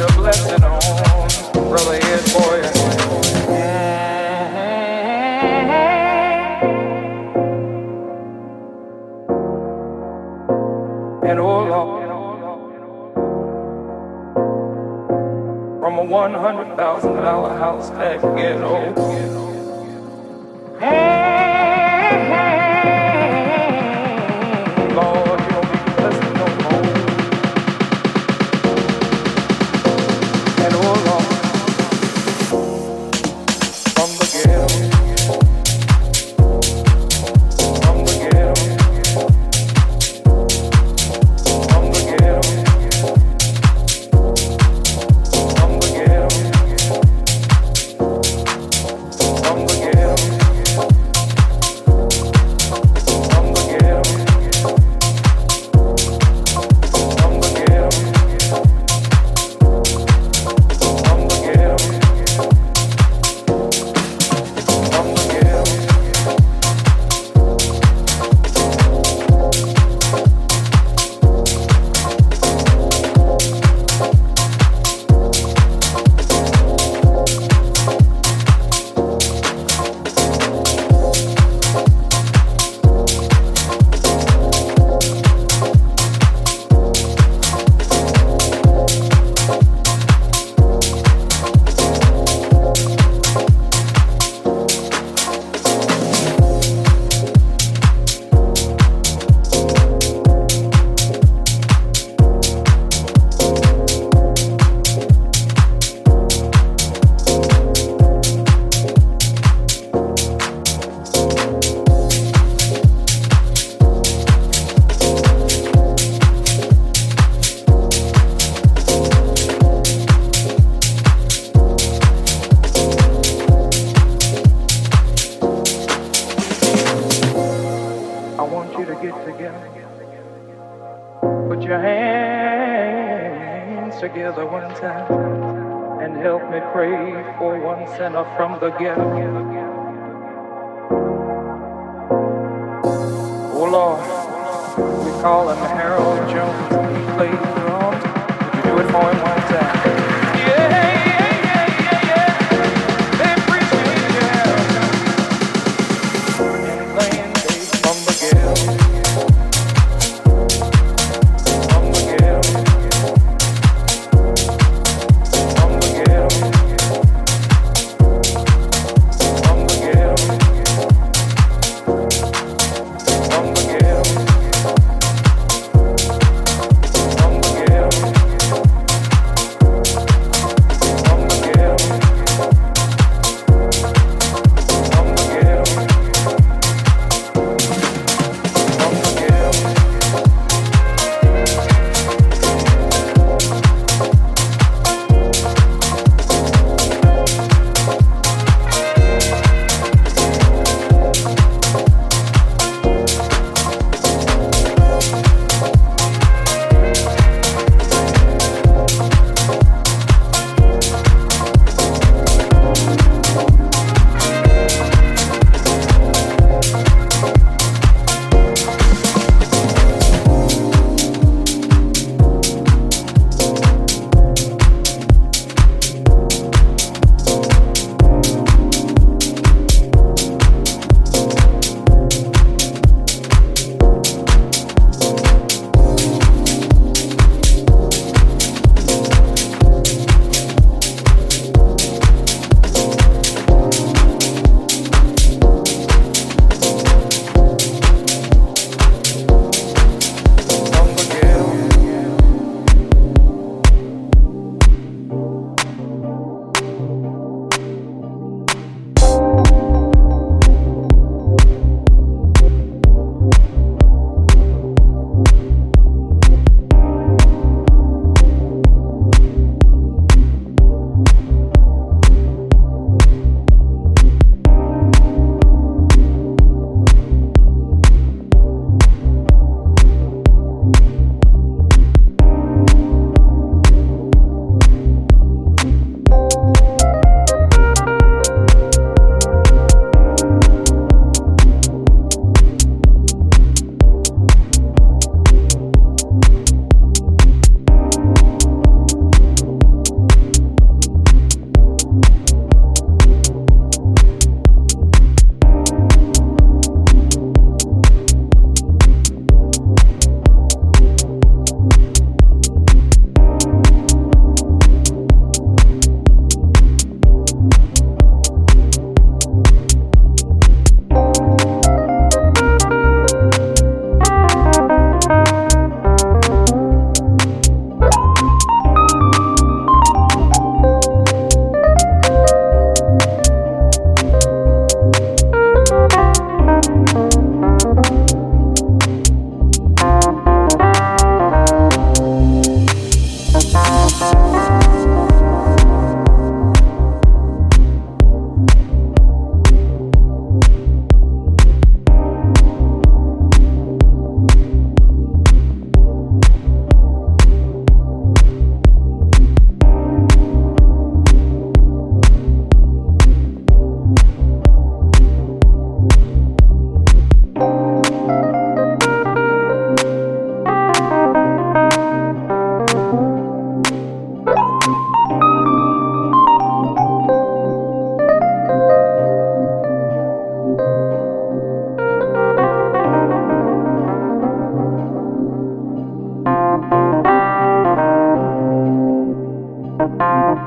Sinner from the ghetto. Oh Lord, we call him Harold Jones. He plays drums. Would you do it for him one time?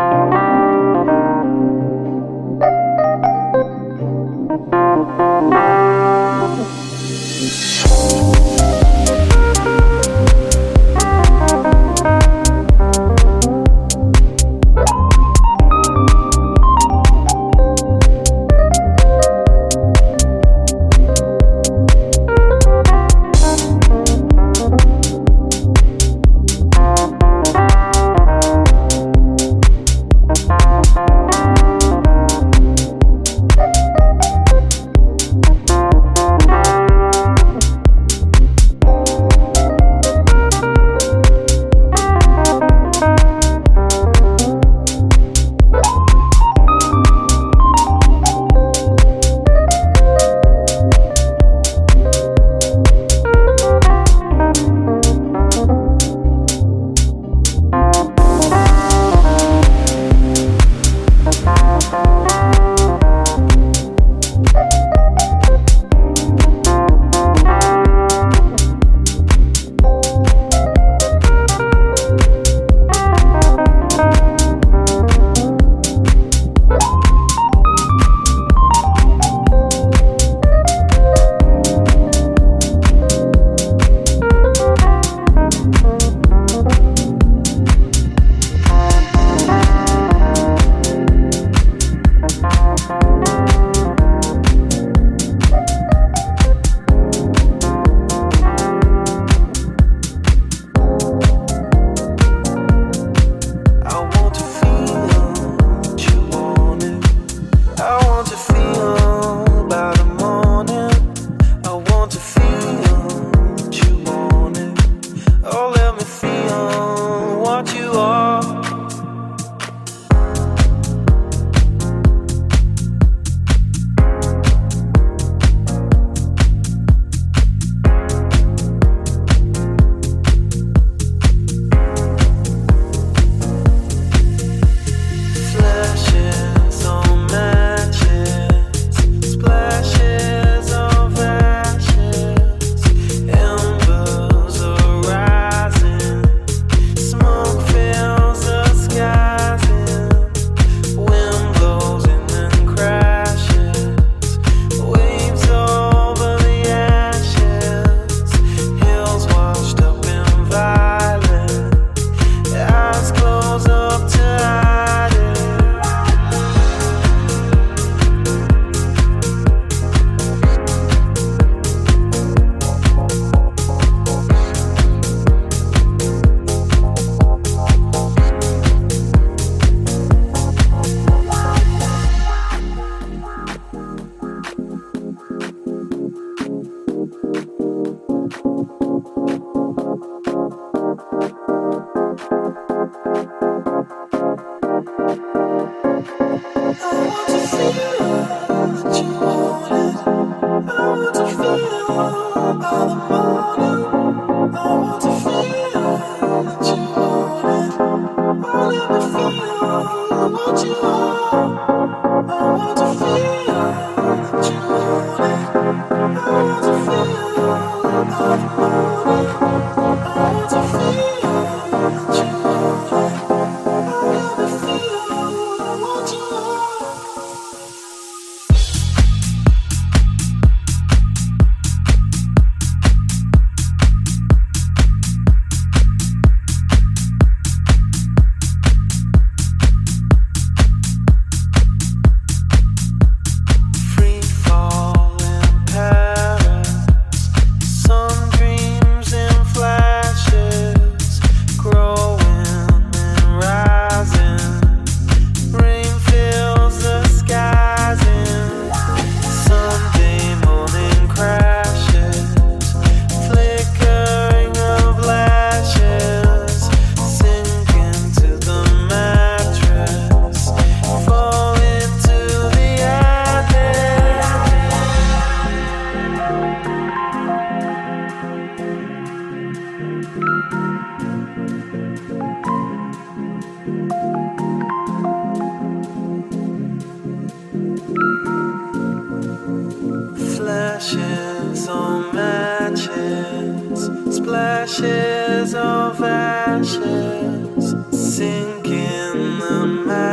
Splashes of ashes sink in the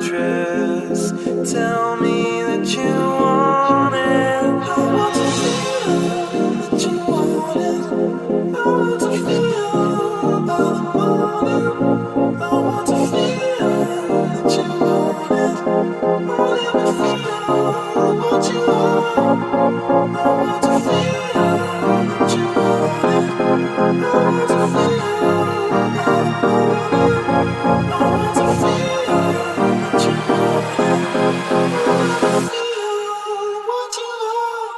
undress. Tell me that you want it. I want to feel that you want it. I want to feel by the morning. I want to feel that you want it. Oh, let me feel what you want. I want to feel that you want it. I want to feel by the morning. I want to feel that you want it. I want to feel what you want.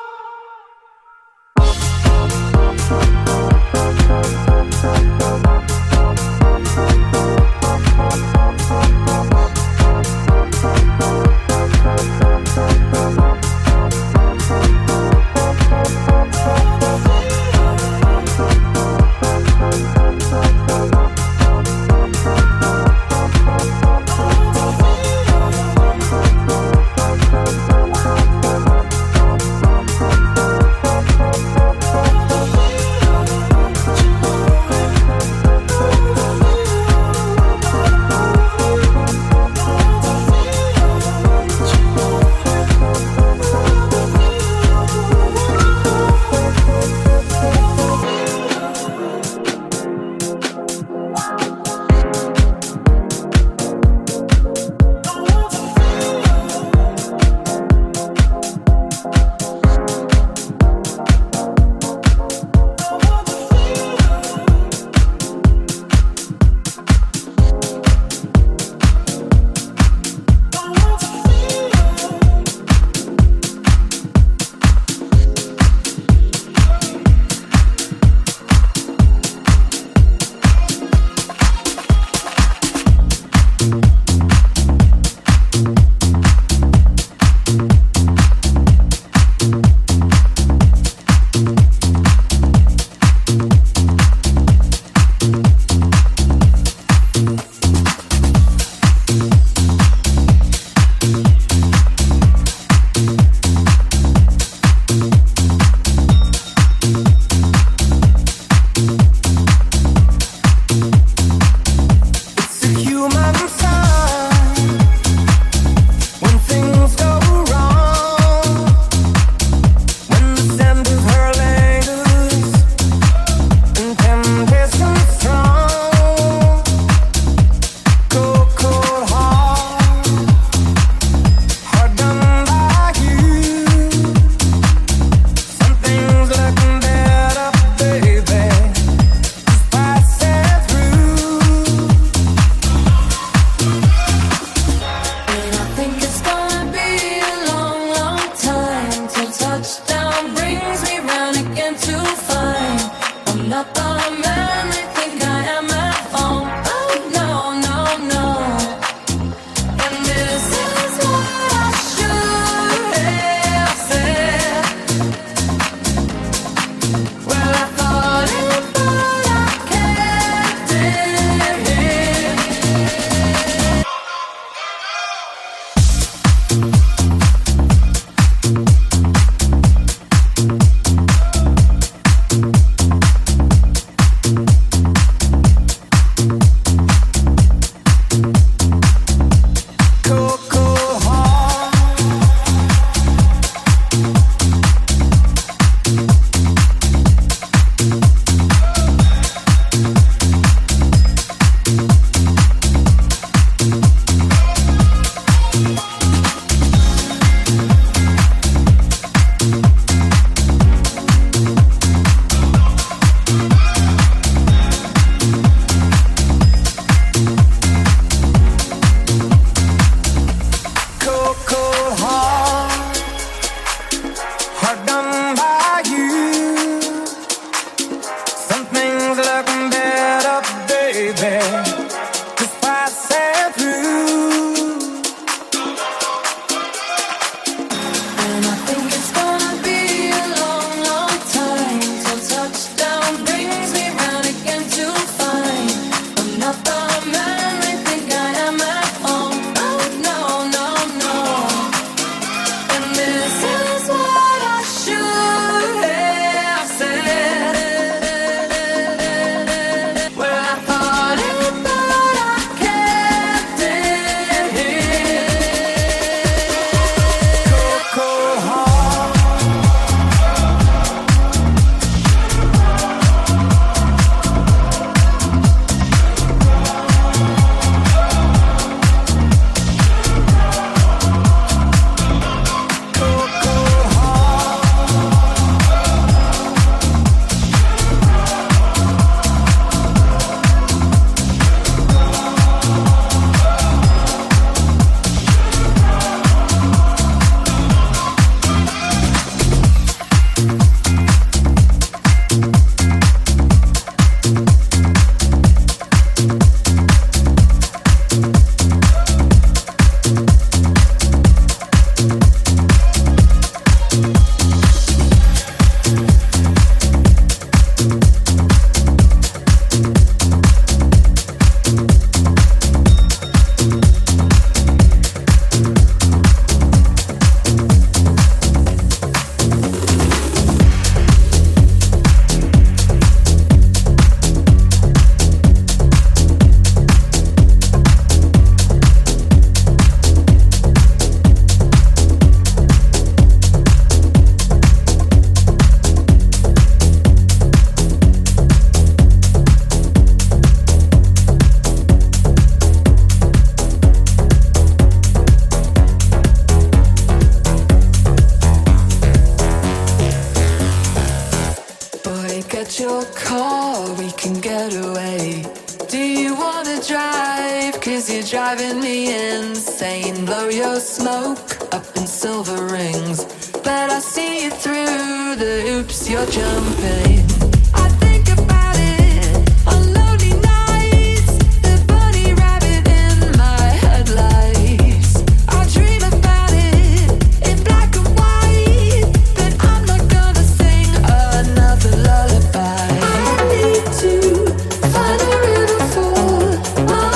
your car, we can get away. Do you wanna drive? Cause you're driving me insane. Blow your smoke up in silver rings, but I see you through the hoops you're jumping. I think about it on lonely nights, the bunny rabbit in my headlights. I dream about it in black and white, but I'm not gonna sing another lullaby. I need to find a river for my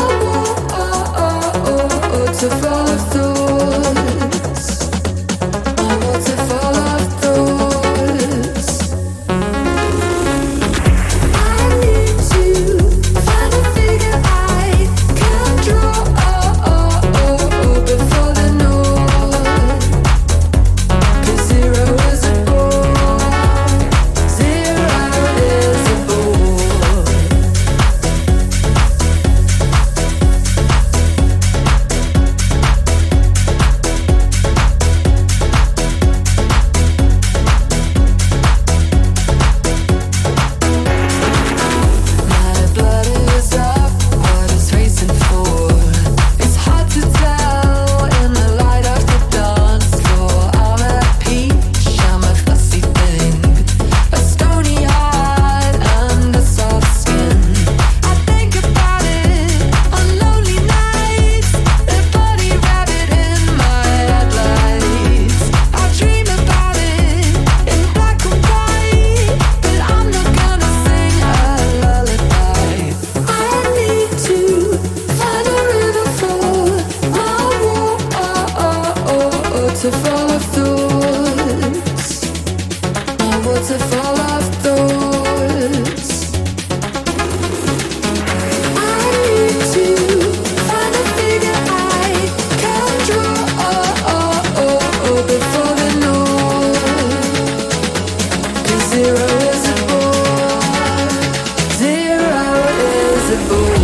to fall of thoughts, my waterfall of thoughts. I need to find a figure I can draw before the north. 'Cause zero is a bore, zero is a bore. Waterfall of thoughts, my waterfall of thoughts. I need to find a figure I can draw before the north. 'Cause zero is a bore, zero is a bore.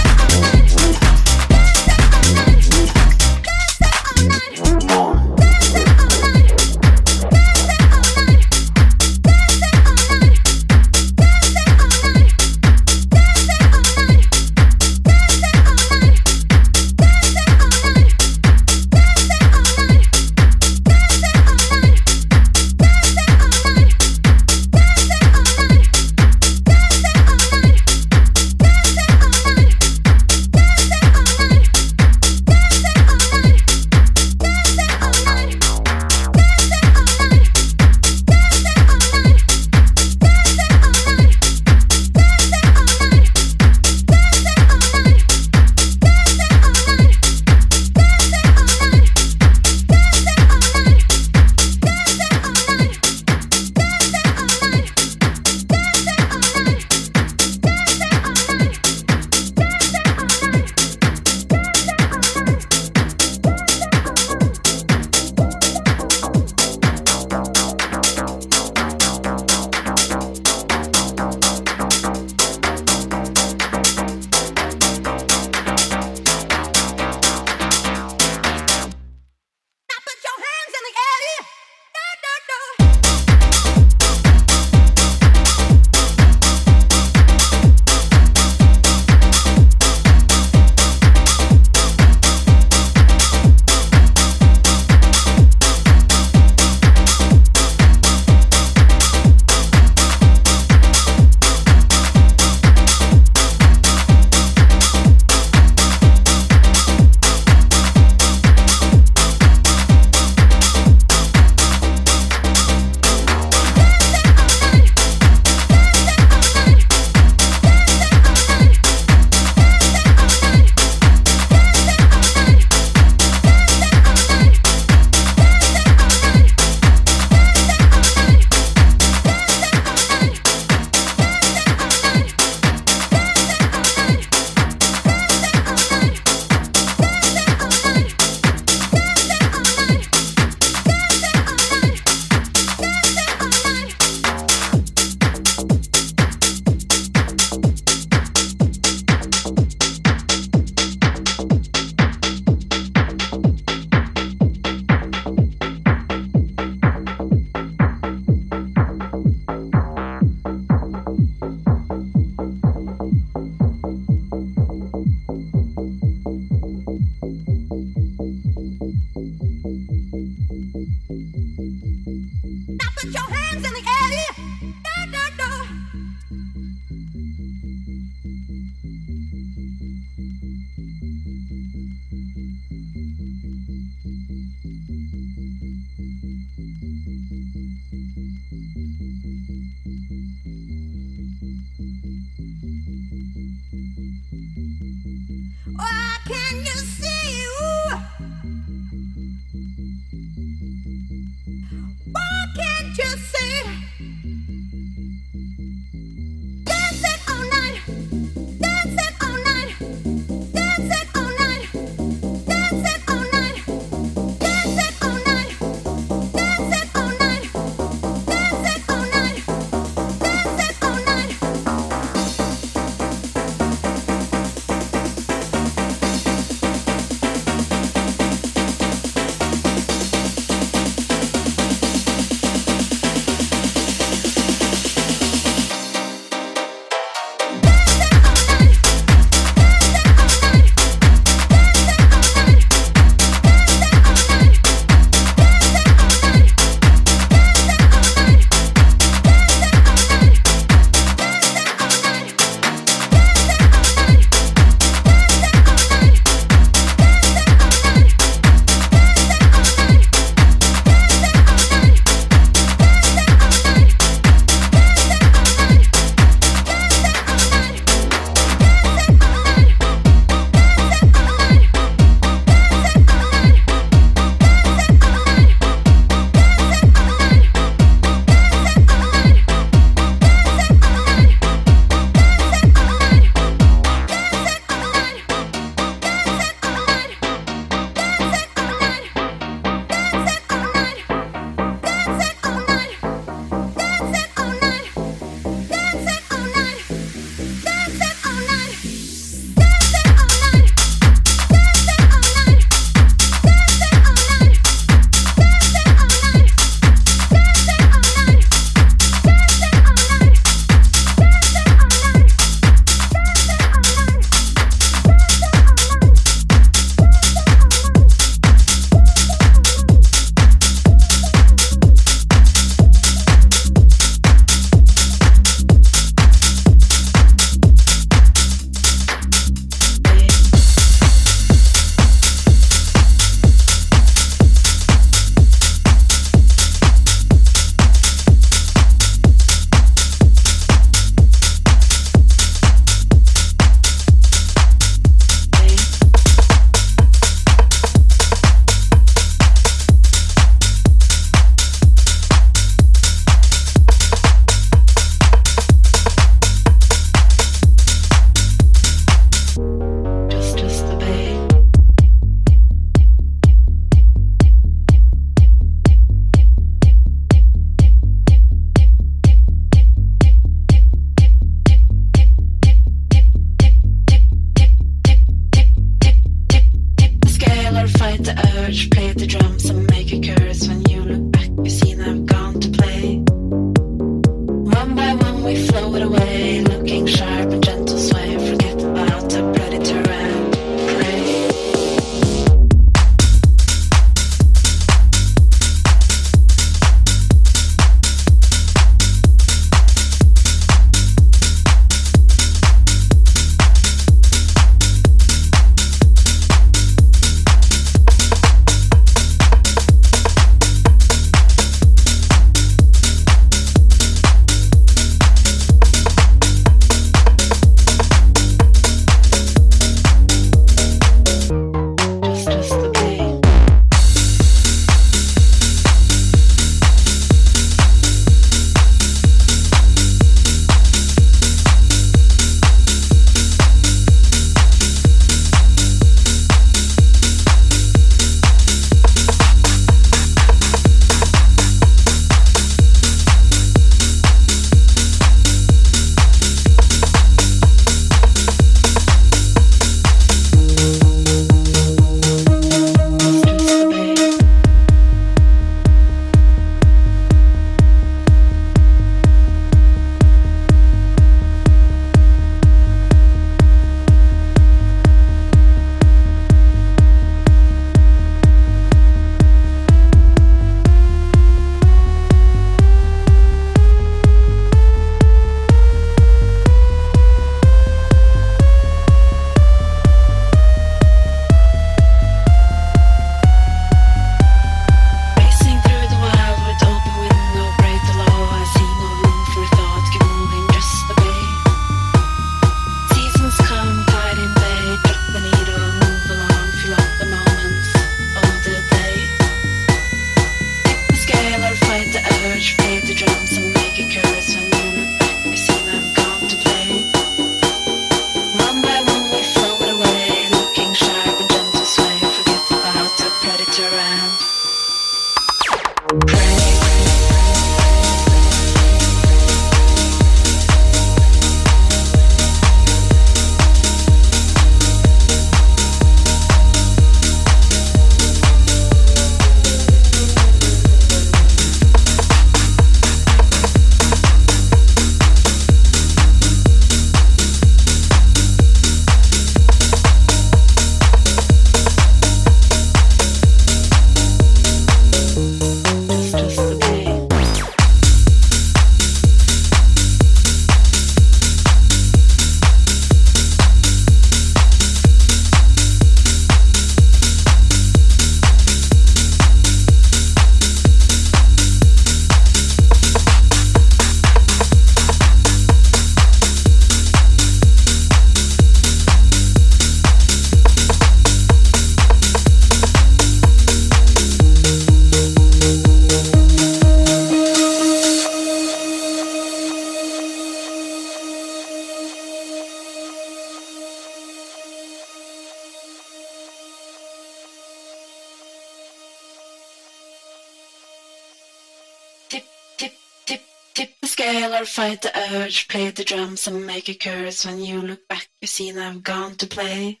Scale or fight the urge, play the drums and make a curse. When you look back, you see I've gone to play.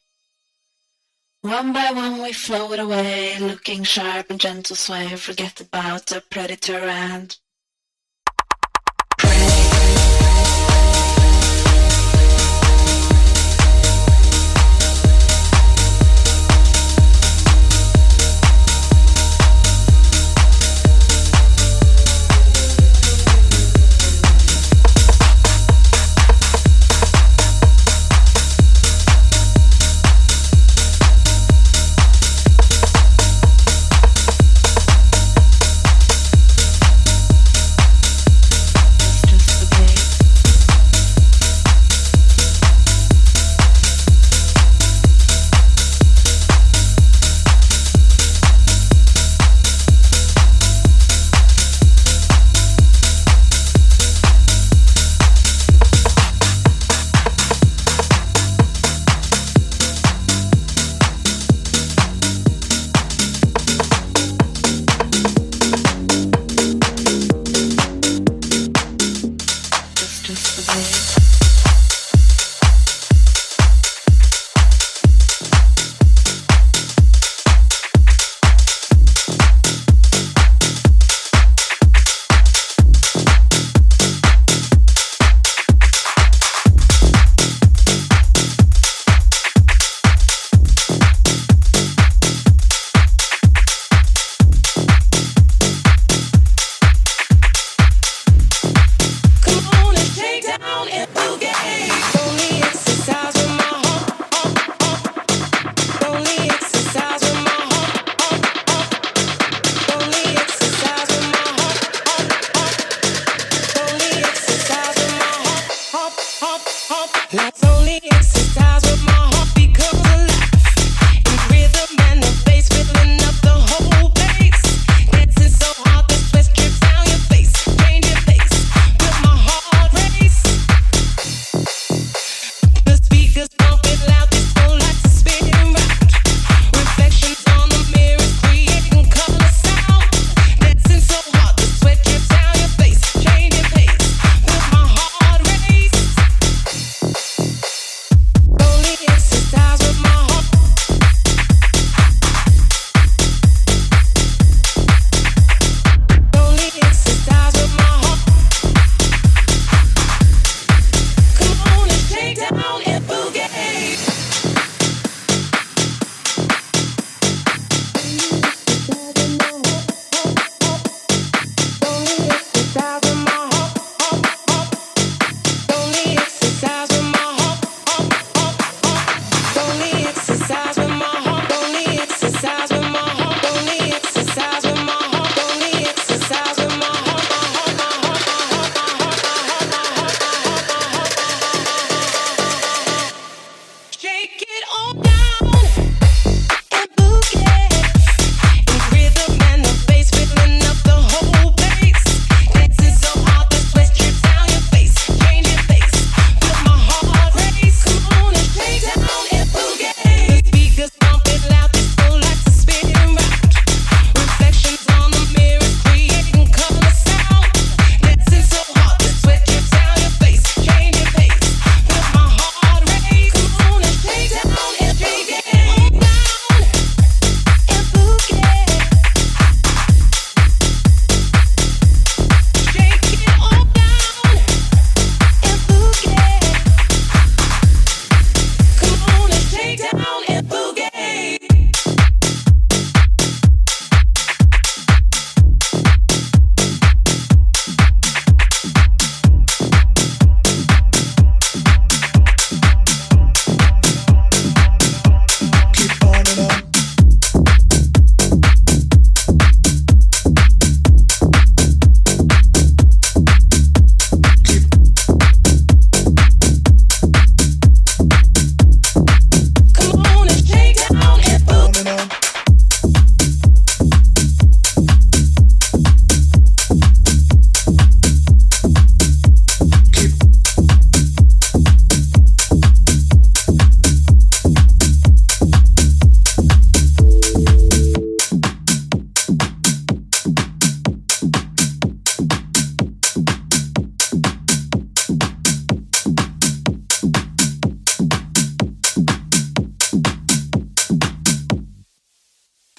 One by one we float away, looking sharp and gentle sway. Forget about the predator and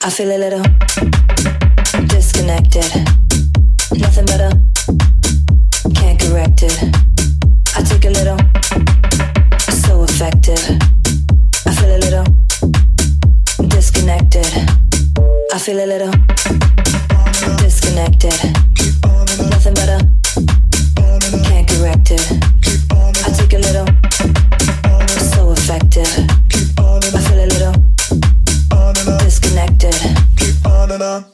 I feel a little disconnected. Nothing better, can't correct it. I take a little, so effective. I feel a little disconnected. I feel a little disconnected. Nothing better, can't correct it. I take a little, so effective. I feel a little disconnected. Keep on and on.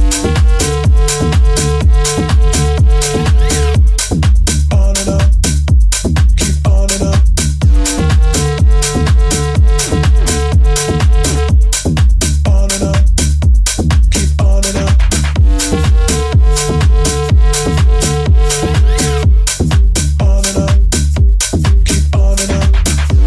On and on. Keep on and on. On and on. Keep on and on. On and on. Keep on and on.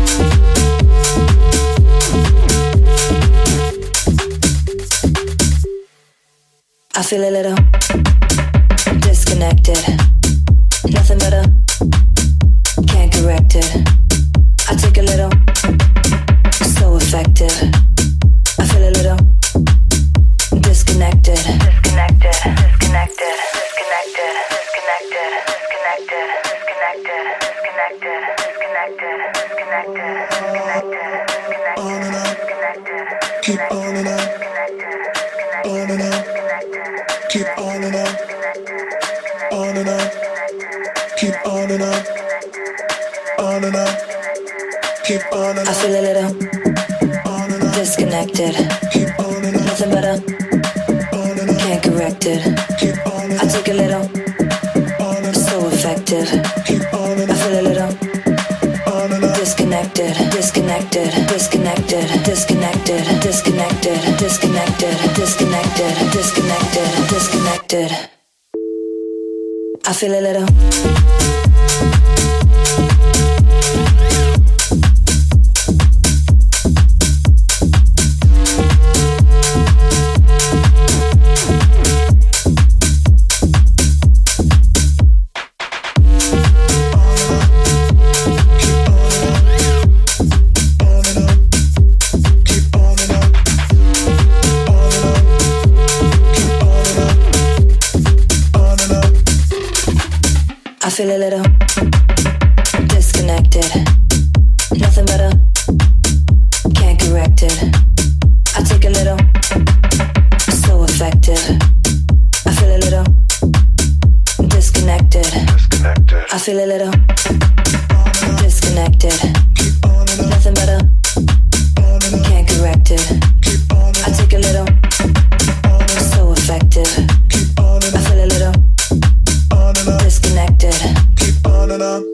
I feel a little disconnected. Nothing better, can't correct it. I take a little, so effective. I feel a little disconnected. Disconnected, disconnected, disconnected, disconnected, disconnected, disconnected, disconnected, disconnected, disconnected, disconnected, disconnected, On and on. disconnected, Keep on and on. On and on. Keep on and on. On and on. Keep on and on. On and on. Keep on and I on. feel a little On and on. disconnected. Keep on and on. Nothing better, On and on. can't correct it. Keep on and I on. take a little, On and on. so effective. Keep on and I on. feel a little On and on. disconnected, disconnected, disconnected, disconnected, disconnected, disconnected, disconnected, disconnected, disconnected. I feel a little I feel a little disconnected. Nothing better, can't correct it. I take a little, so effective. I feel a little disconnected. I feel a little disconnected. Nothing better, can't correct it. I take a little, so effective. I feel a little disconnected. Keep on and on.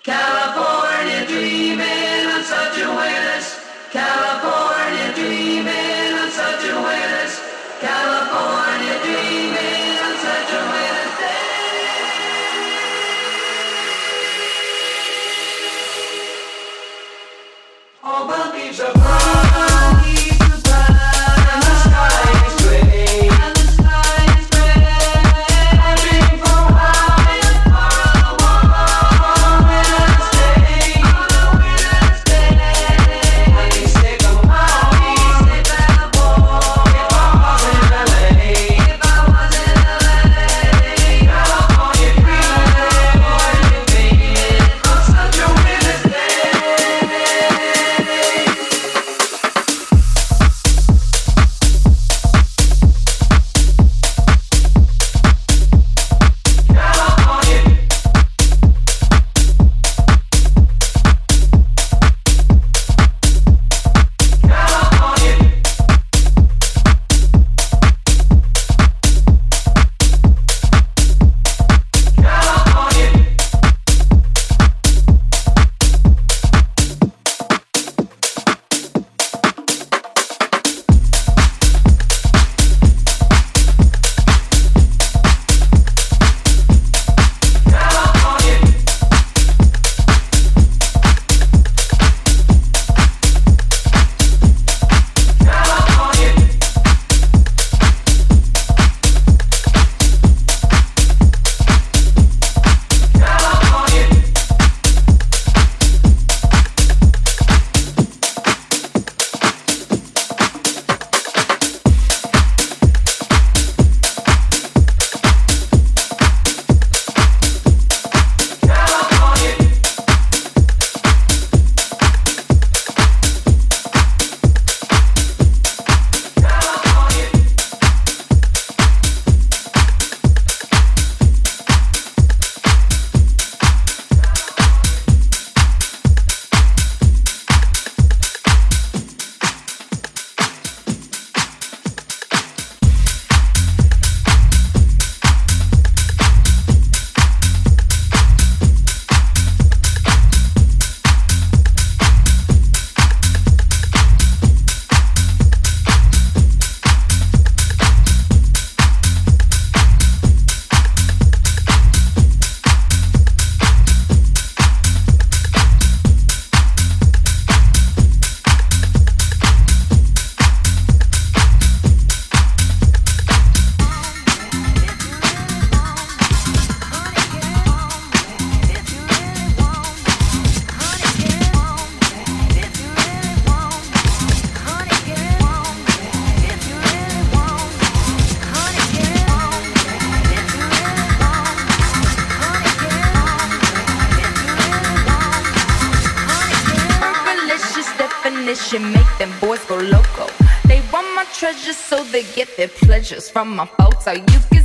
California dreaming on such a witness. California dreaming on such a witness. California dreaming on such a witness day. All the leaves are brown, and the sky is gray, and the sky is gray. I'm dreaming from high and far on a winter's day. I'd be sick of Maui, sick of the war. If I was in LA, California dreaming on such a winter's day. Make them boys go loco. They want my treasures so they get their pleasures from my photo. You can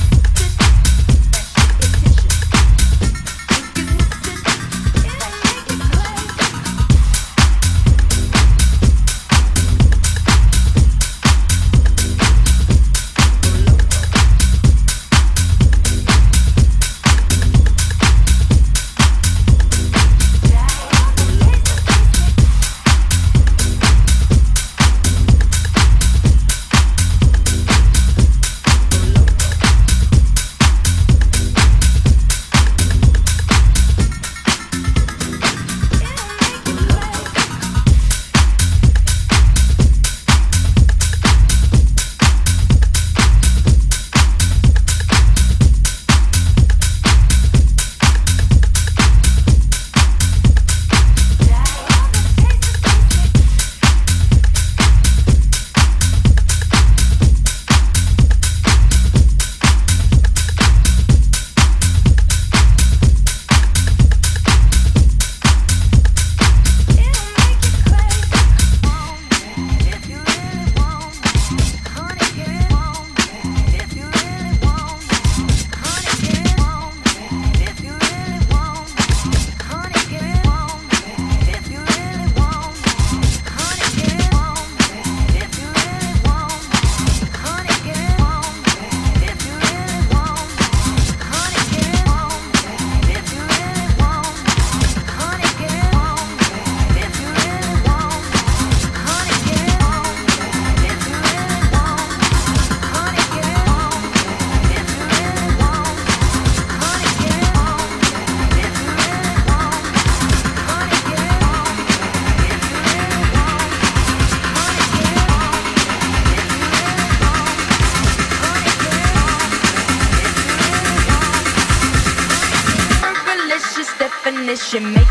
Make it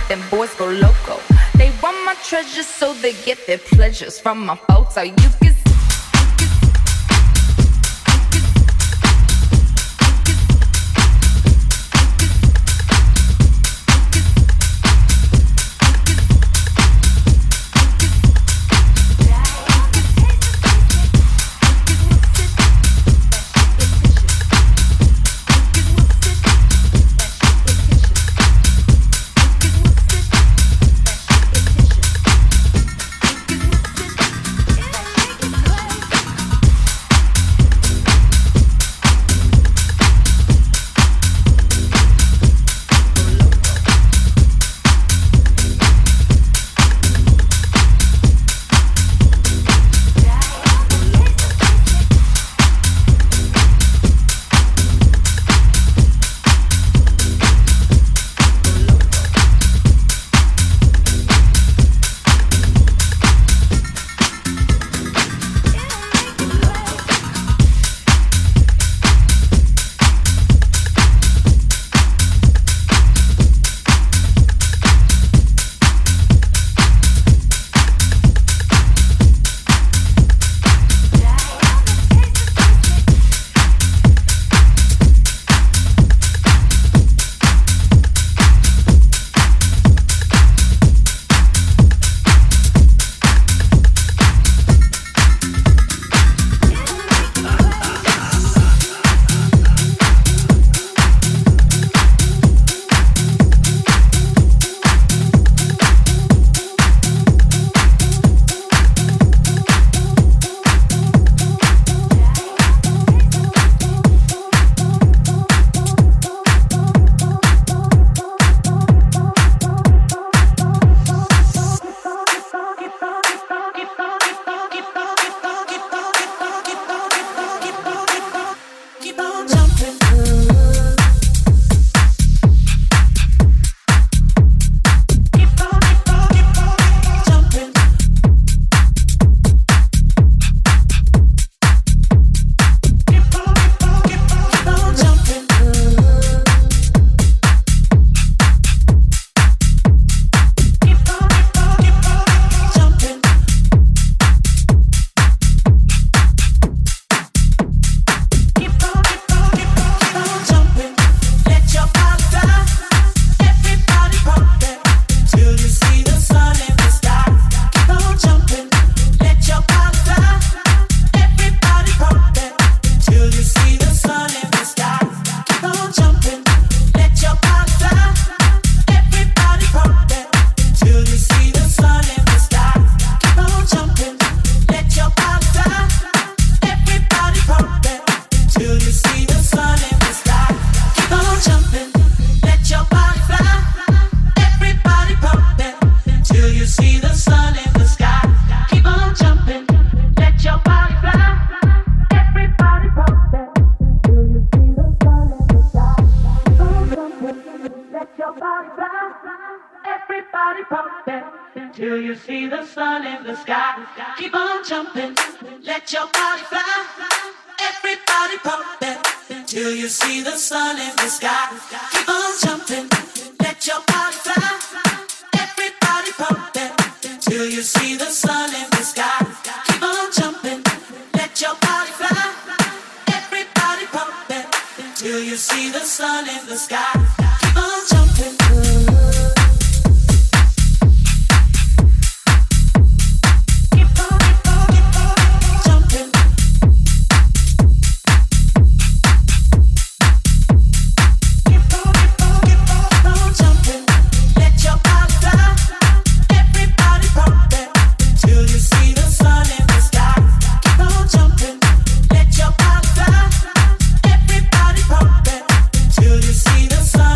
them boys go loco. They want my treasures so they get their pleasures from my photo. You can till you see the sun in the sky. Keep on jumping, let your body fly. Everybody pump it till you see the sun in the sky. Keep on jumping, let your body fly. Everybody pump it till you see the sun in the sky. Keep on jumping, let your body fly. Everybody pump it till you see the sun in the sky. Keep on jumping. See the sun.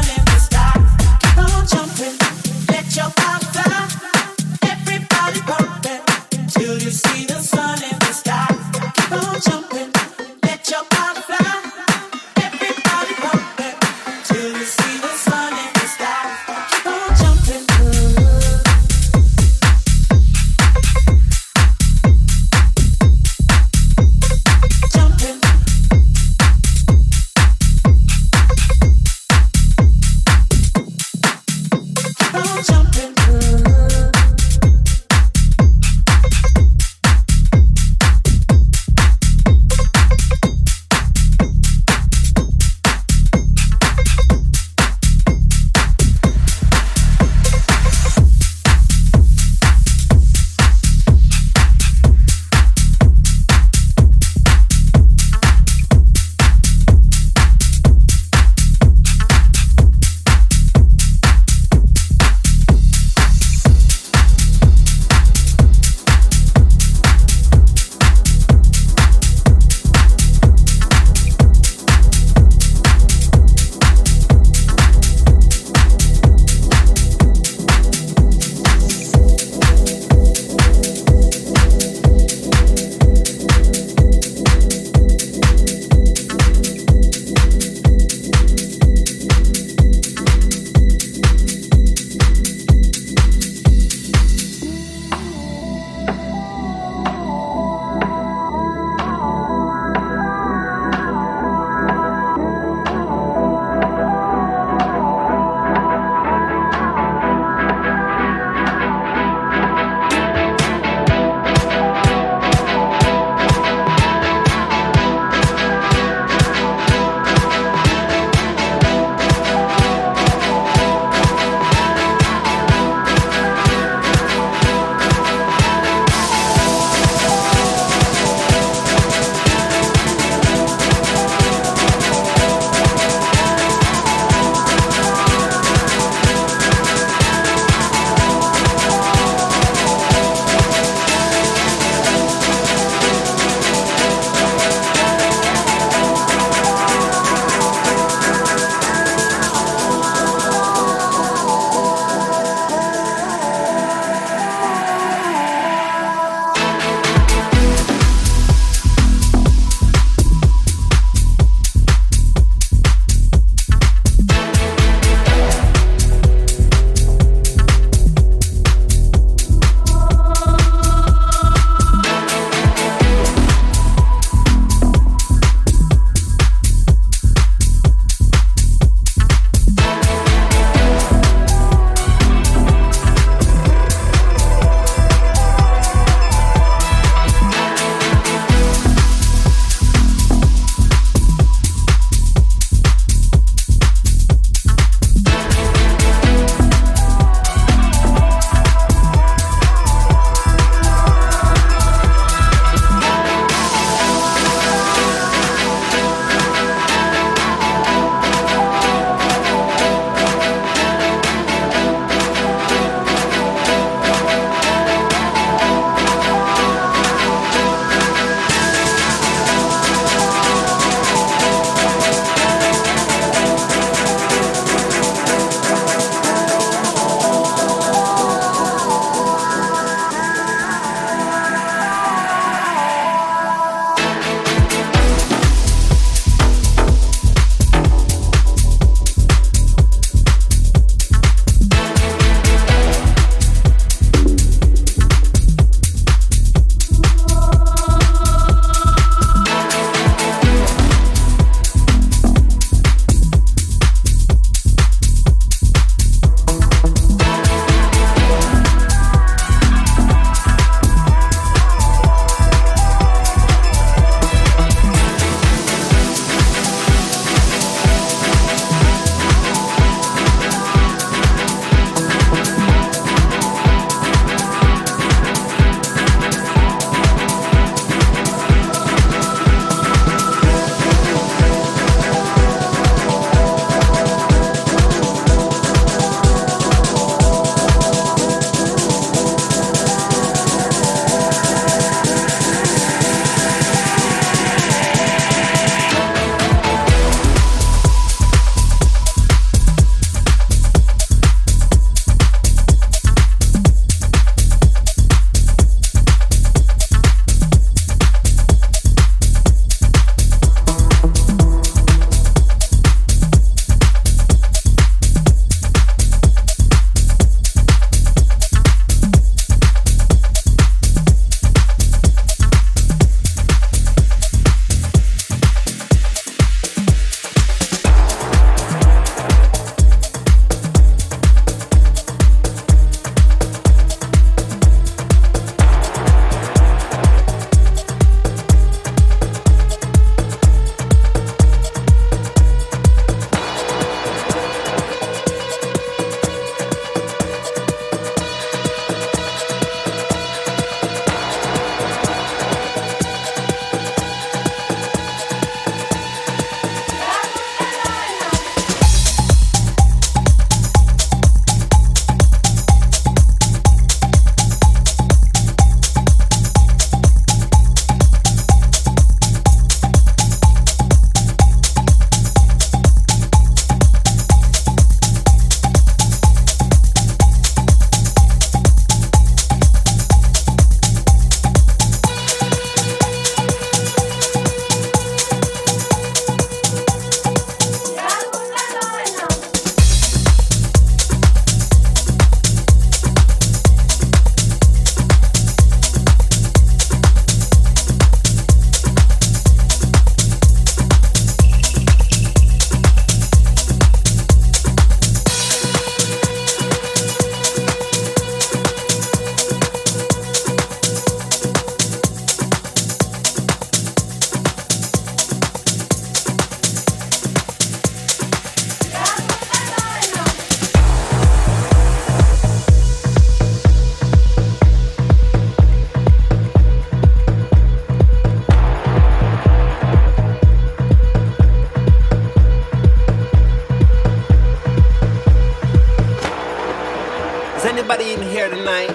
tonight,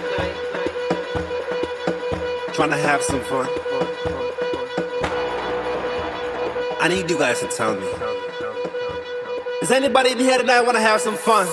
trying to have some fun. I need you guys to tell me. Does anybody in here tonight want to have some fun?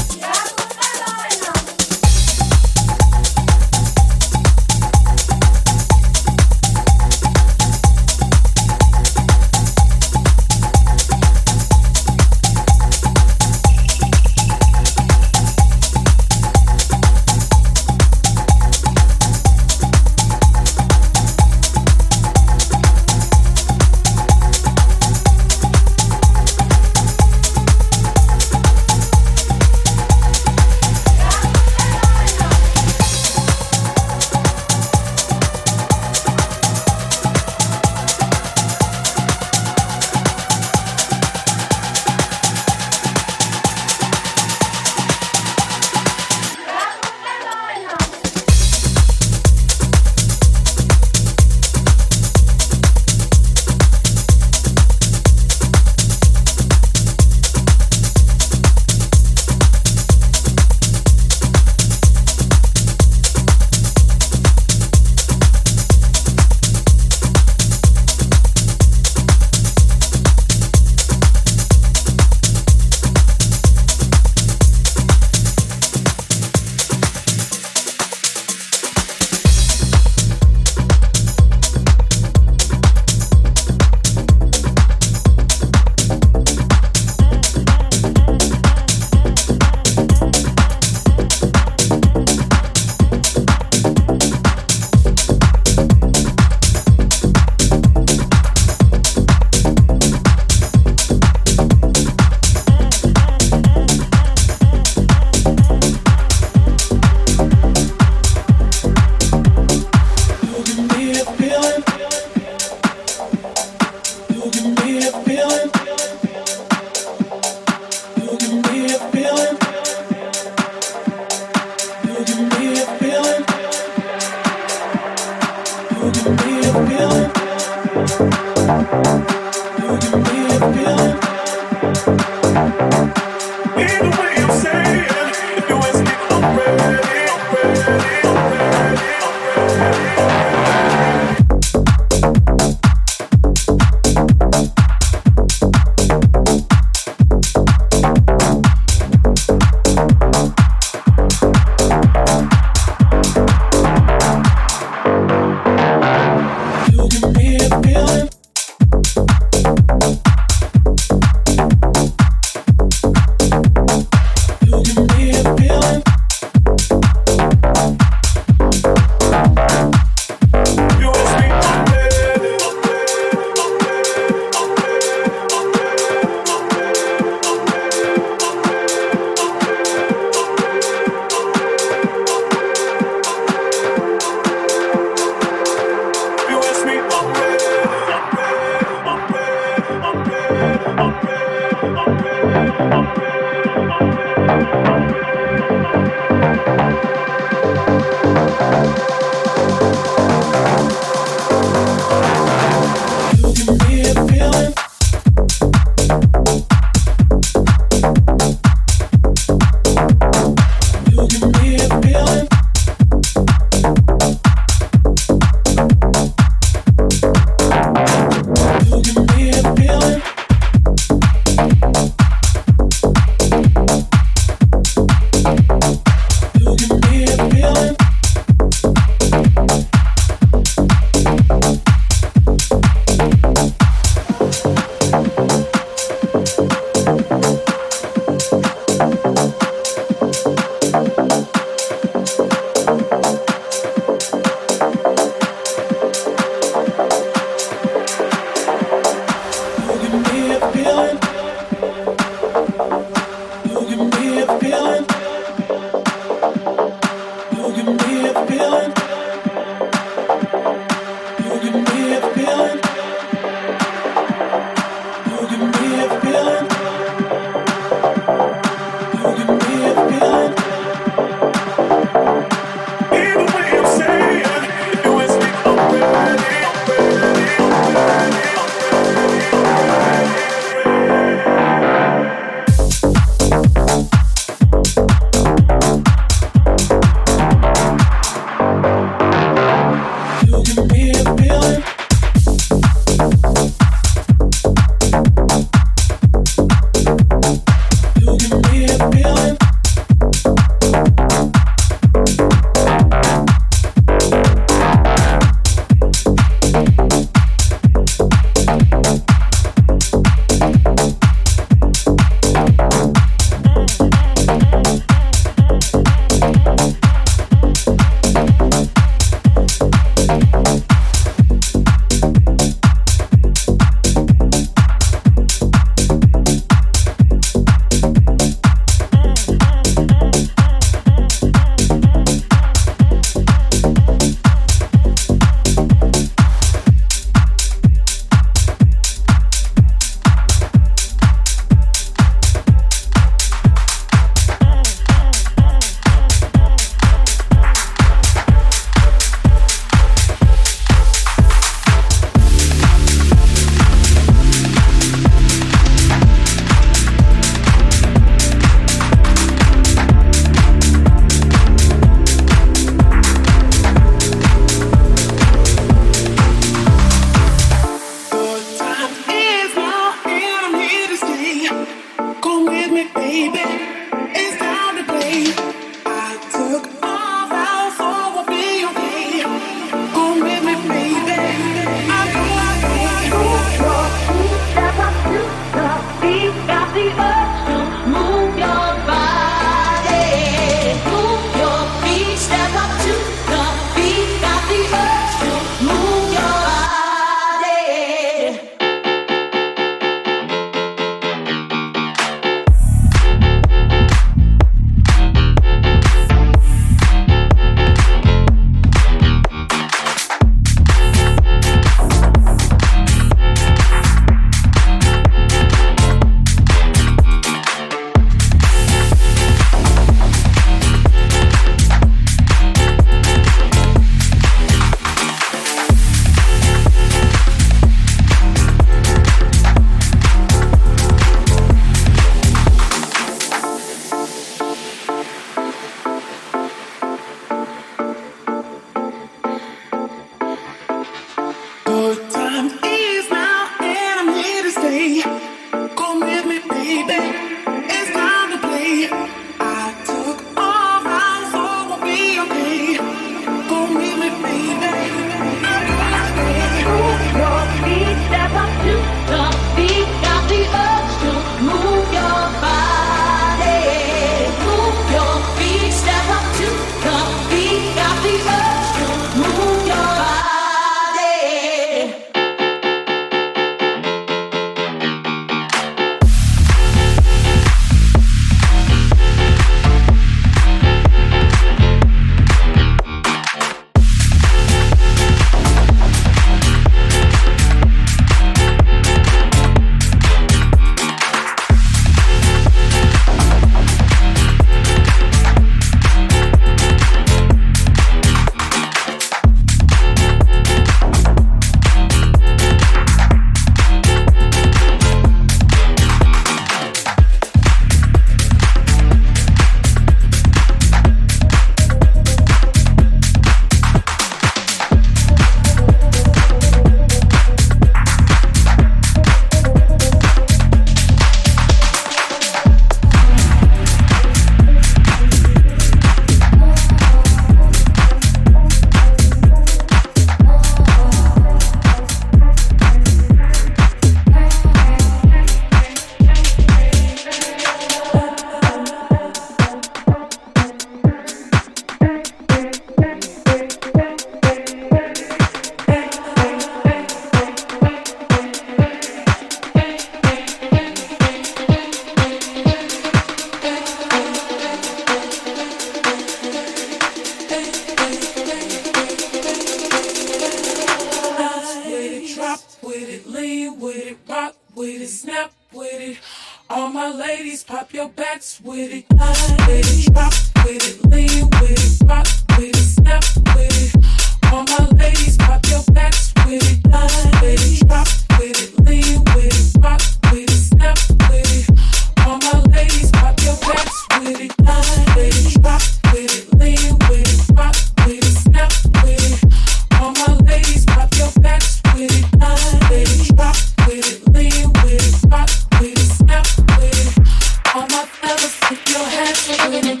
ladies, pop your backs with it. Line with it, drop with it, lean with it, rock with it, snap with it. All my ladies, pop your backs with it. Line with it, drop with it, lean with it, rock with it, snap with it. All my ladies, pop your backs with it. Line with it, drop with it, lean with it, rock with it, snap with it. All my ladies, pop your backs with it. Line with it, drop with it, lean with it, rock with it, snap with it. All my fellas, put your hands with it.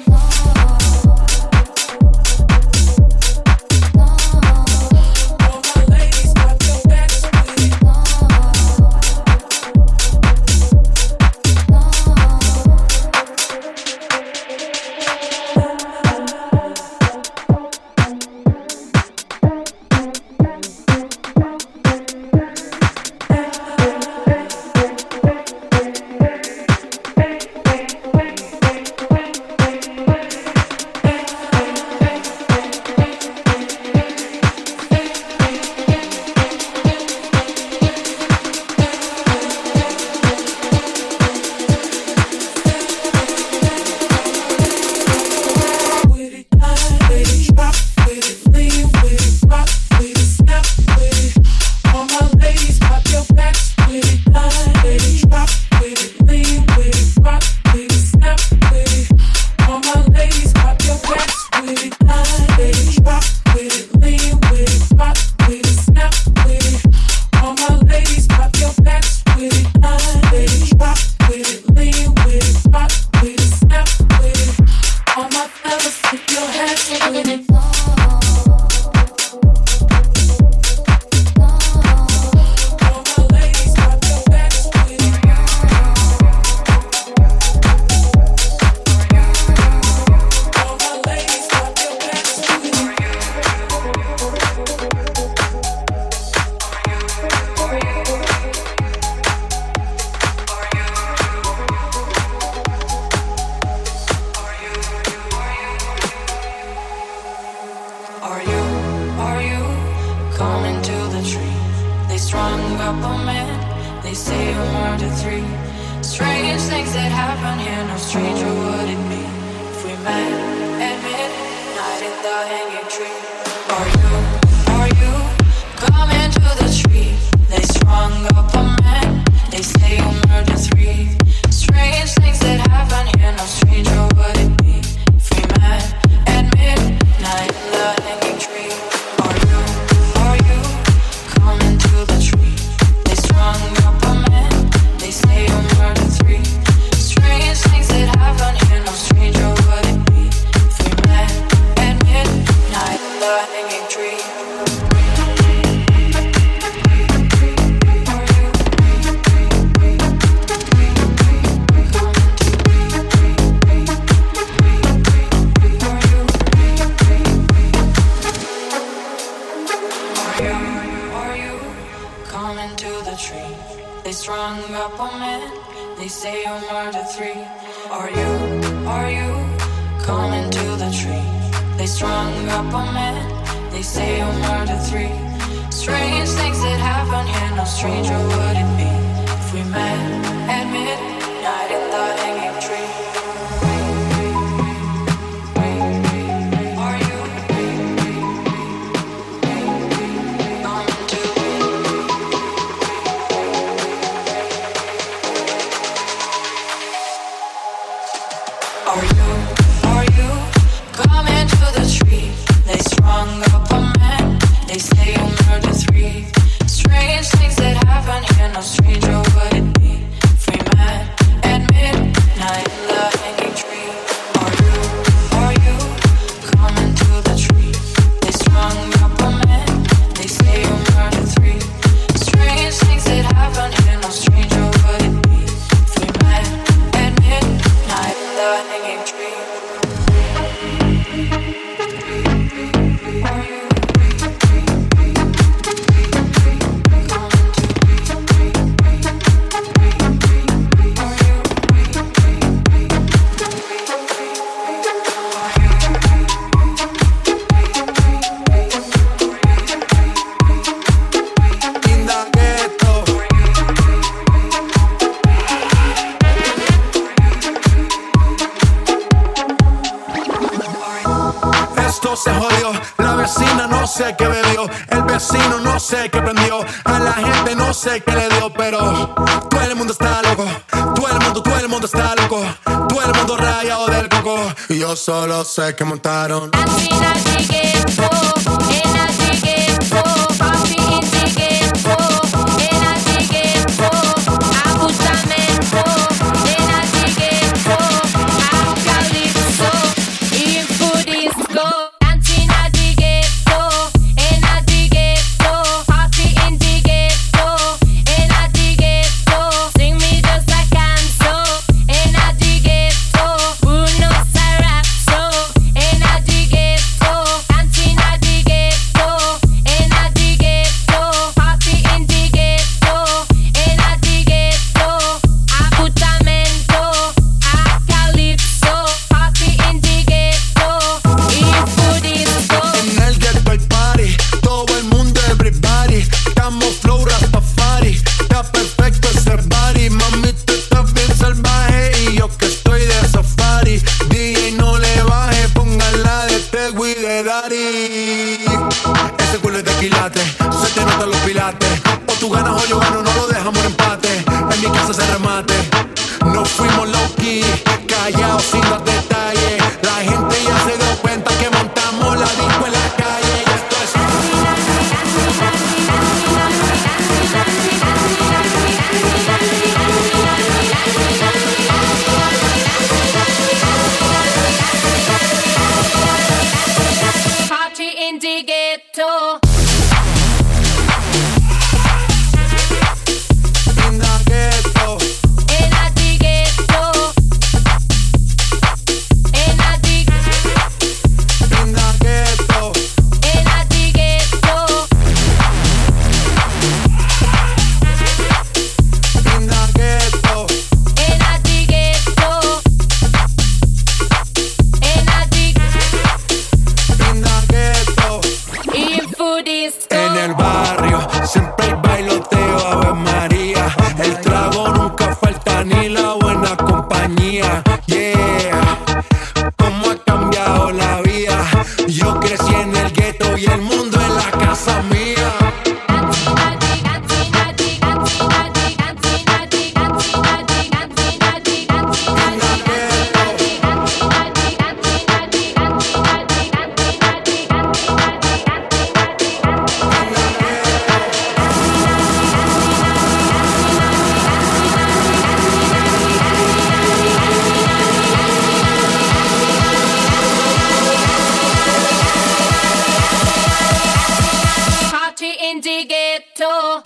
Strange things that happen here, no stranger would it be La vecina no sé qué bebió, el vecino no sé qué prendió, a la gente no sé qué le dio, pero todo el mundo está loco, todo el mundo está loco, todo el mundo rayado del coco. Y yo solo sé que montaron. Ese culo es de quilate, se te notan los pilates. O tú ganas o yo gano, no lo dejamos en empate. En mi casa se remate. No fuimos low key, callados sin los detalles. La gente ya se dio cuenta que montamos la disco en la calle. Y esto es Party in the ghetto. in the ghetto. In the ghetto. In the In the ghetto. in the ghetto. In the ghetto. In the ghetto. In the ghetto. In food disco. En el barrio siempre hay bailoteo, Ave María. El trago nunca falta ni la buena compañía. Yeah, cómo ha cambiado la vida. Yo crecí en el gueto y el mundo es la casa mía. Party in the ghetto.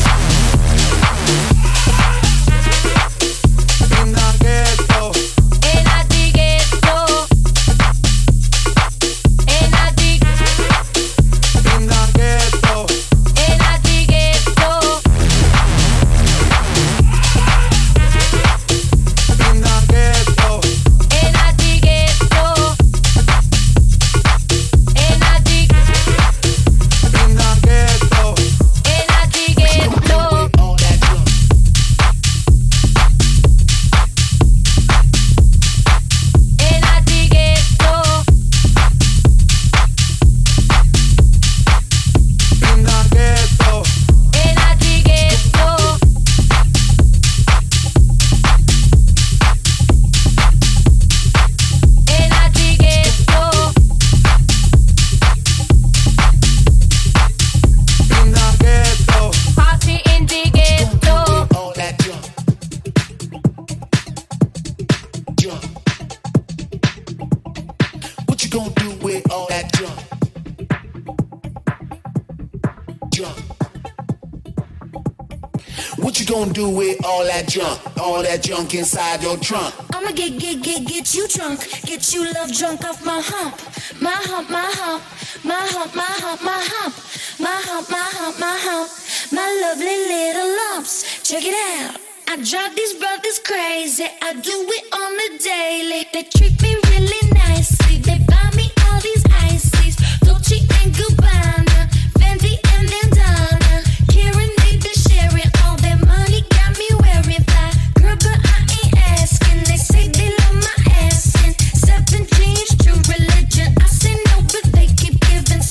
In the ghetto. In the ghetto. In the In the ghetto. in the ghetto. In the ghetto. In the ghetto. In the In the ghetto. in the ghetto. All that junk. In the ghetto. In the ghetto. In the ghetto. In the ghetto. In the ghetto. Party in the ghetto. All that junk. Junk. What you gonna do with all that junk? Junk. What you gonna do with all that junk? All that junk inside your trunk? I'ma get you drunk, get you love drunk off my hump, my hump, my hump, my hump, my hump, my hump, my hump, my hump, my hump, my lovely little lumps. Check it out. I drive these brothers crazy. I do it on the daily. They treat me really nicely. They buy me all these ices, Dolce and Gabbana, Fendi and Bandana. Karen need to share it. All their money got me wearing fly. Girl, but I ain't asking. They say they love my ass and 7 jeans, true religion. I say no, but they keep giving.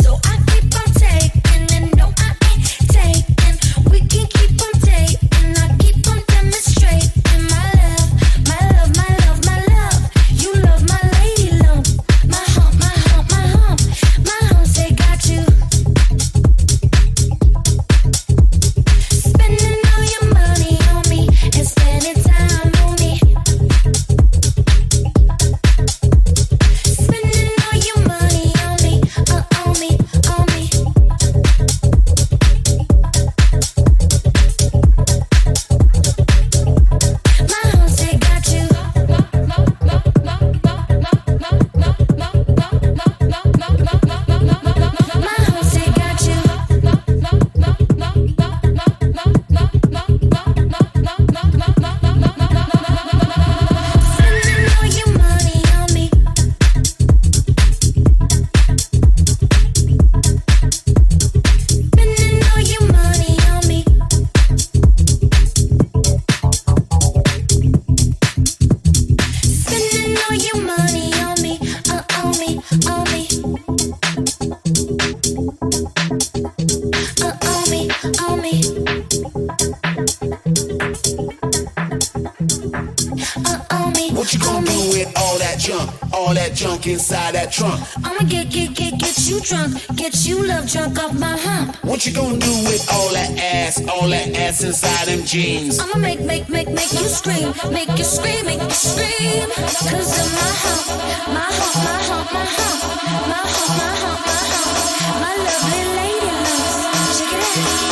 all that junk inside that trunk? I'ma get you drunk, get you love drunk off my hump. What you gonna do with all that ass inside them jeans? I'ma make you scream, make you scream, make you scream. Cause of my hump, my hump, my hump, my hump, my hump, my hump, my hump, my lovely lady loves. Check it out.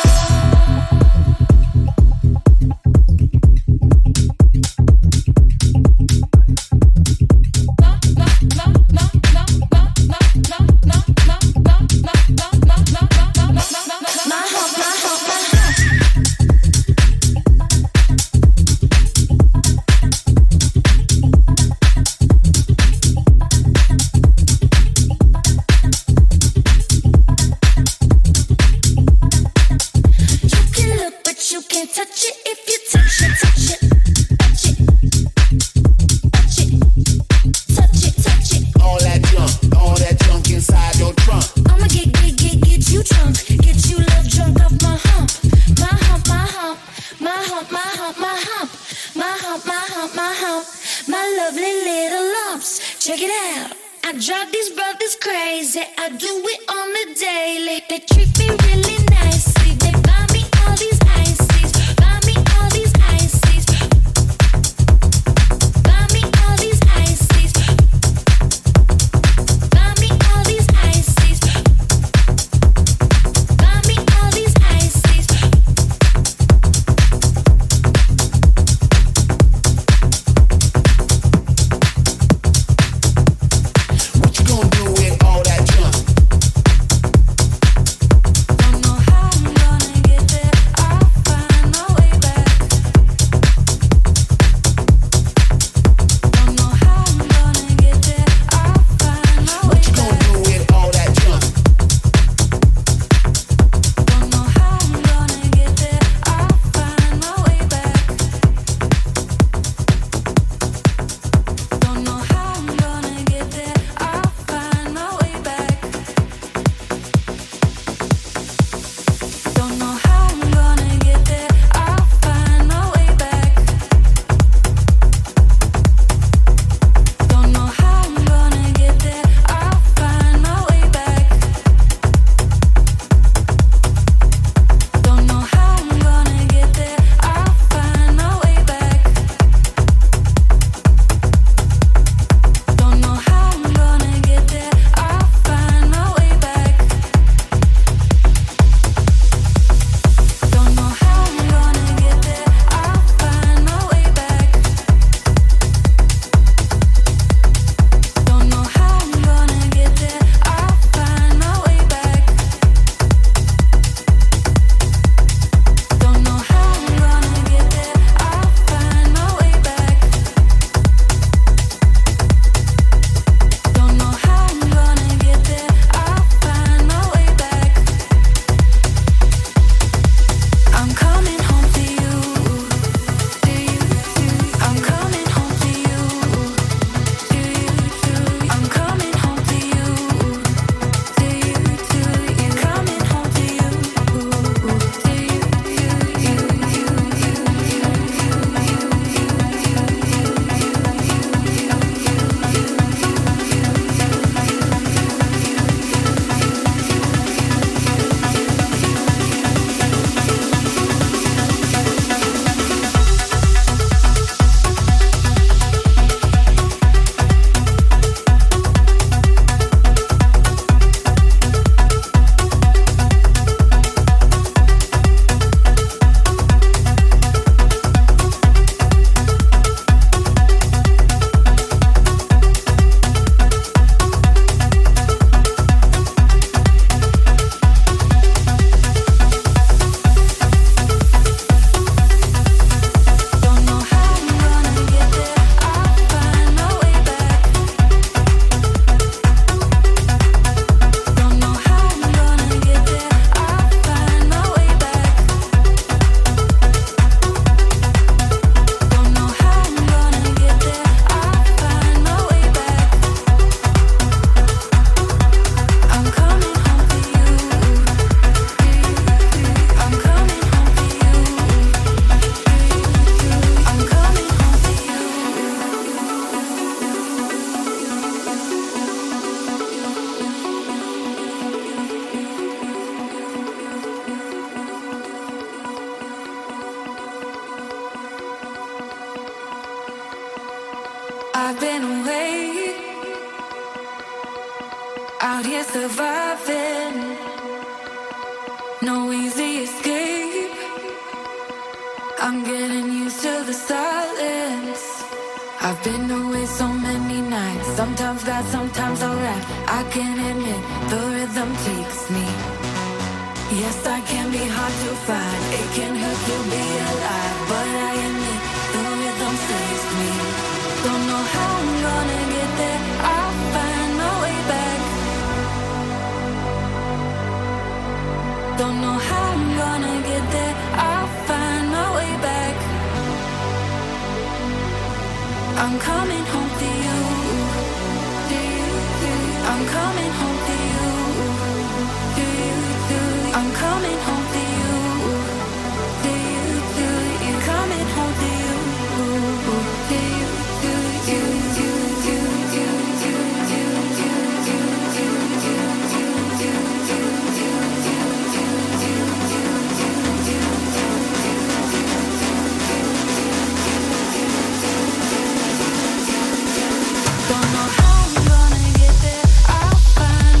Check it out. I drive these brothers crazy. I do it on the daily. They treat me really nicely. They buy me all these ices. Buy me all these ices. Buy me all these ices. Buy me all these ices. Buy me all these ices. What you gonna do with all that junk? Don't know how. been away, out here surviving, no easy escape. I'm getting used to the silence. I've been away so many nights, sometimes bad, sometimes alright. I can admit the rhythm takes me. Yes, I can be hard to find, it can hurt to be alive, but I admit the rhythm saves me. Don't know how I'm gonna get there, I'll find my way back. Don't know how I'm gonna get there, I'll find my way back. I'm coming home to you, I'm coming home to you, I'm coming home to you, you're coming home to you, don't know how I'm gonna get there, I'll find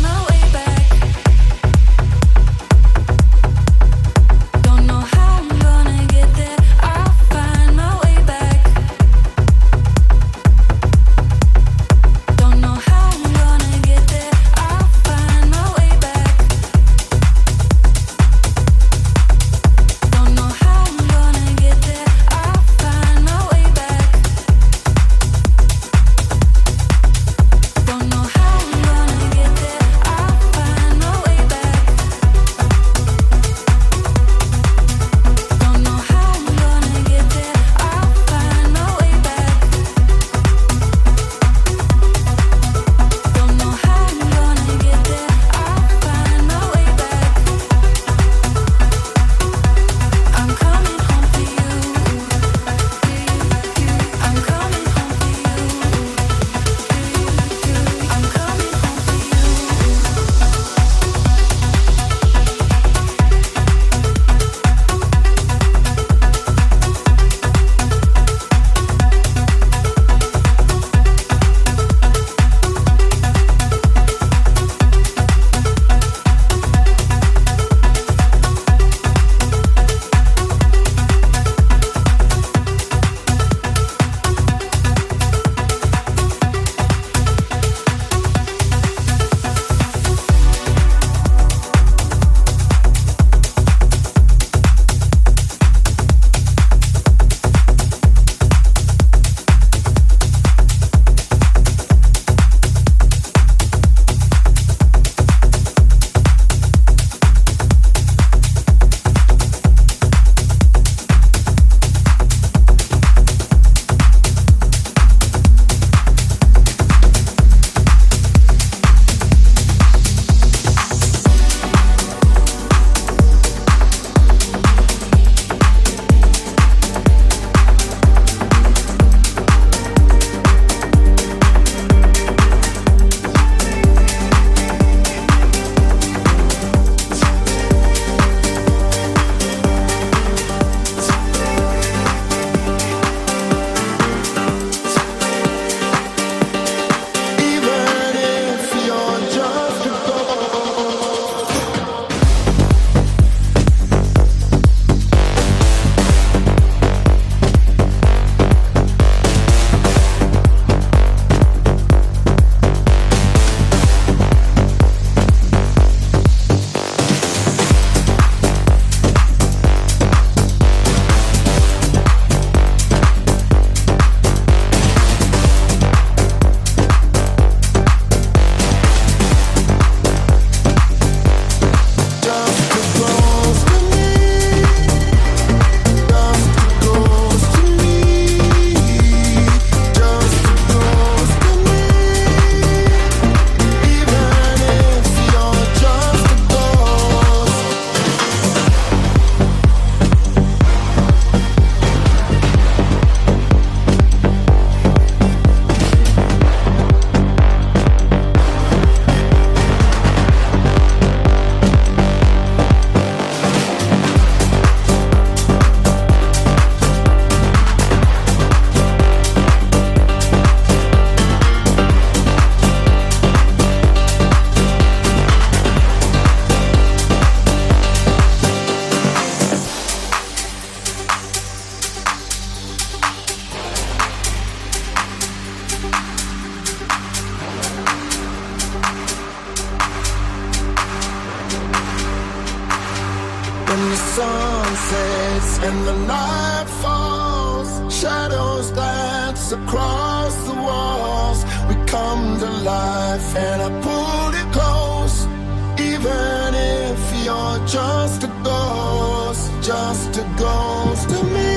When the sun sets and the night falls, shadows dance across the walls. We come to life and I pull it close. Even if you're just a ghost to me,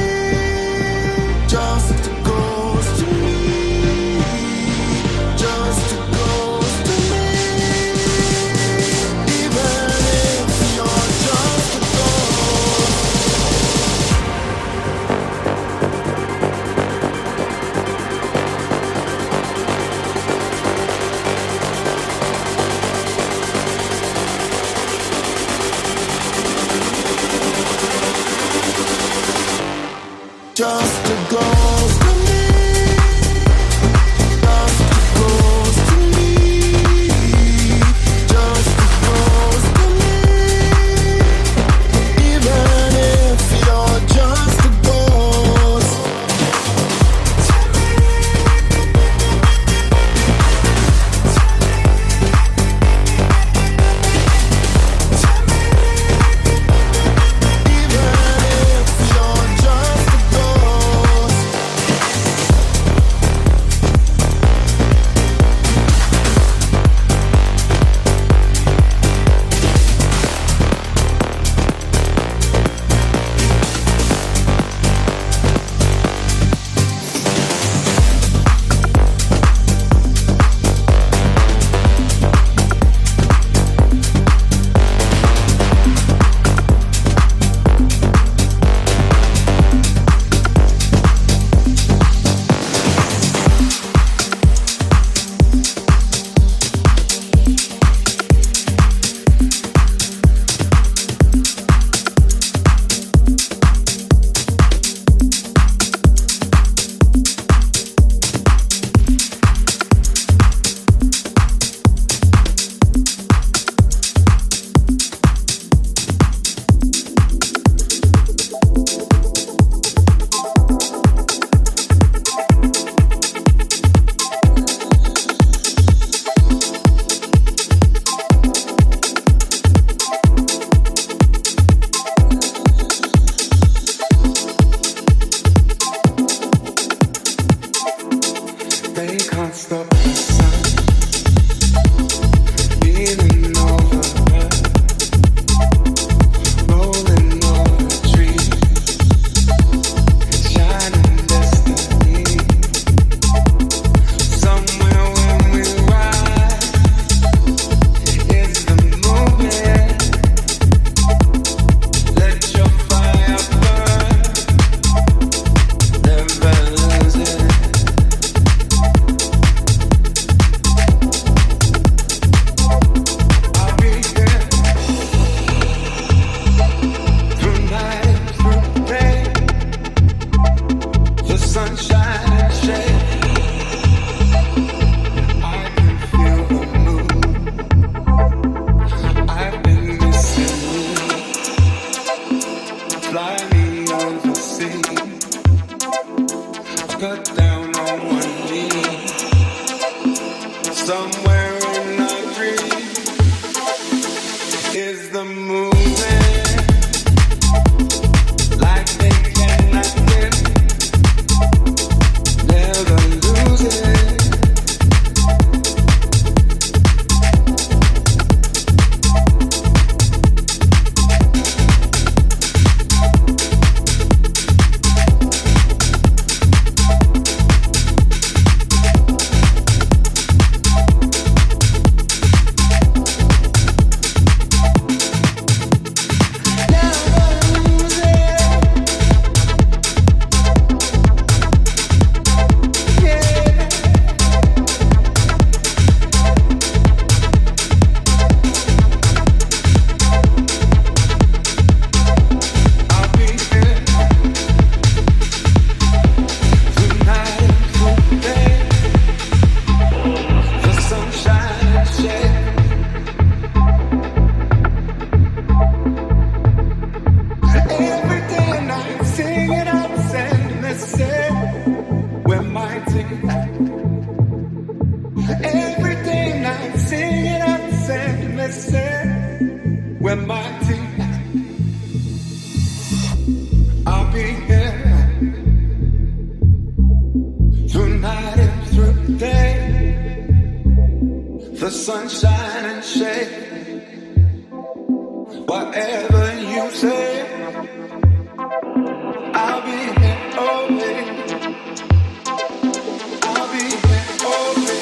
just a ghost to me, just a ghost to me. Even if you're just a just a ghost to me, just a ghost to me, just a ghost to me. Even if you're just a ghost. We're mighty. sunshine and shade. Whatever you say, I'll be here always. I'll be here always.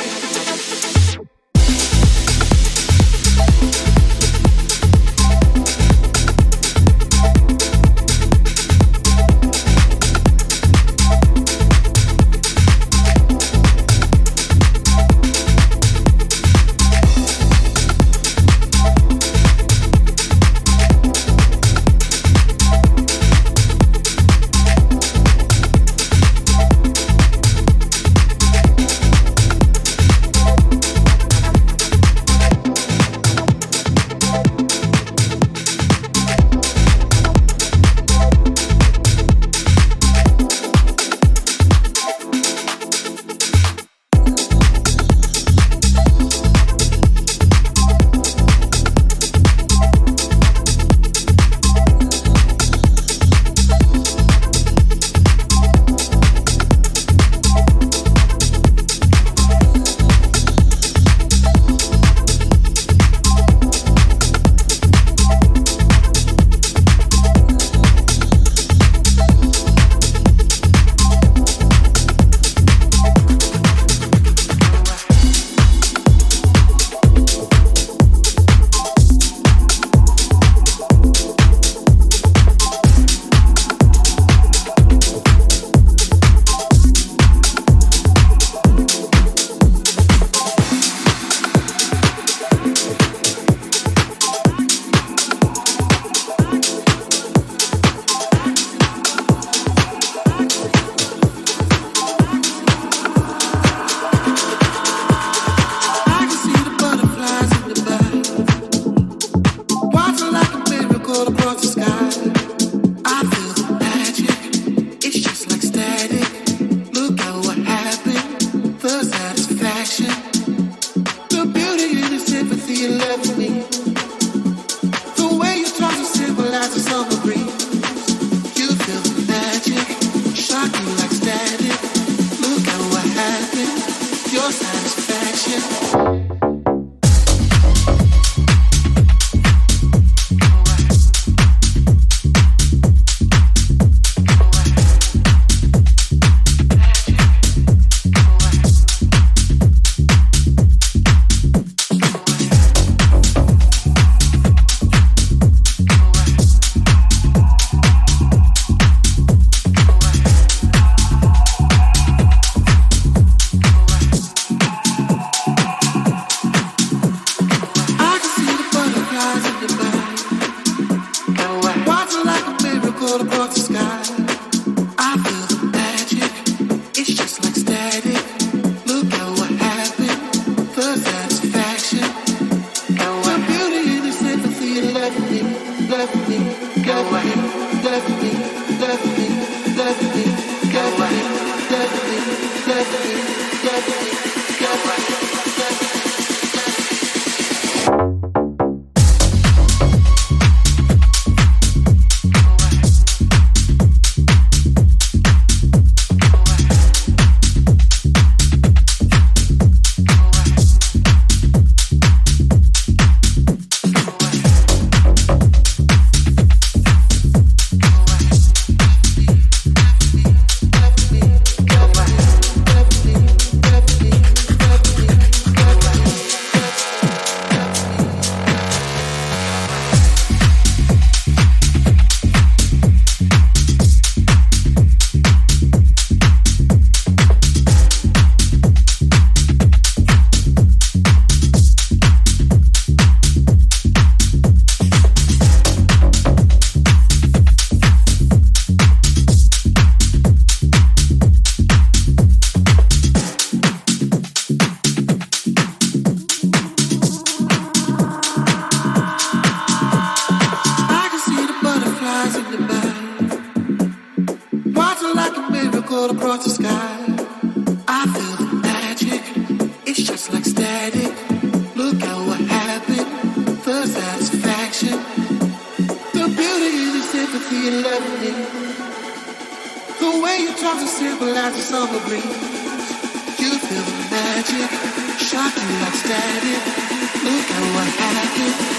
The way you talk to simple as a summer breeze. You feel the magic. Shocking like static. Look at what happened.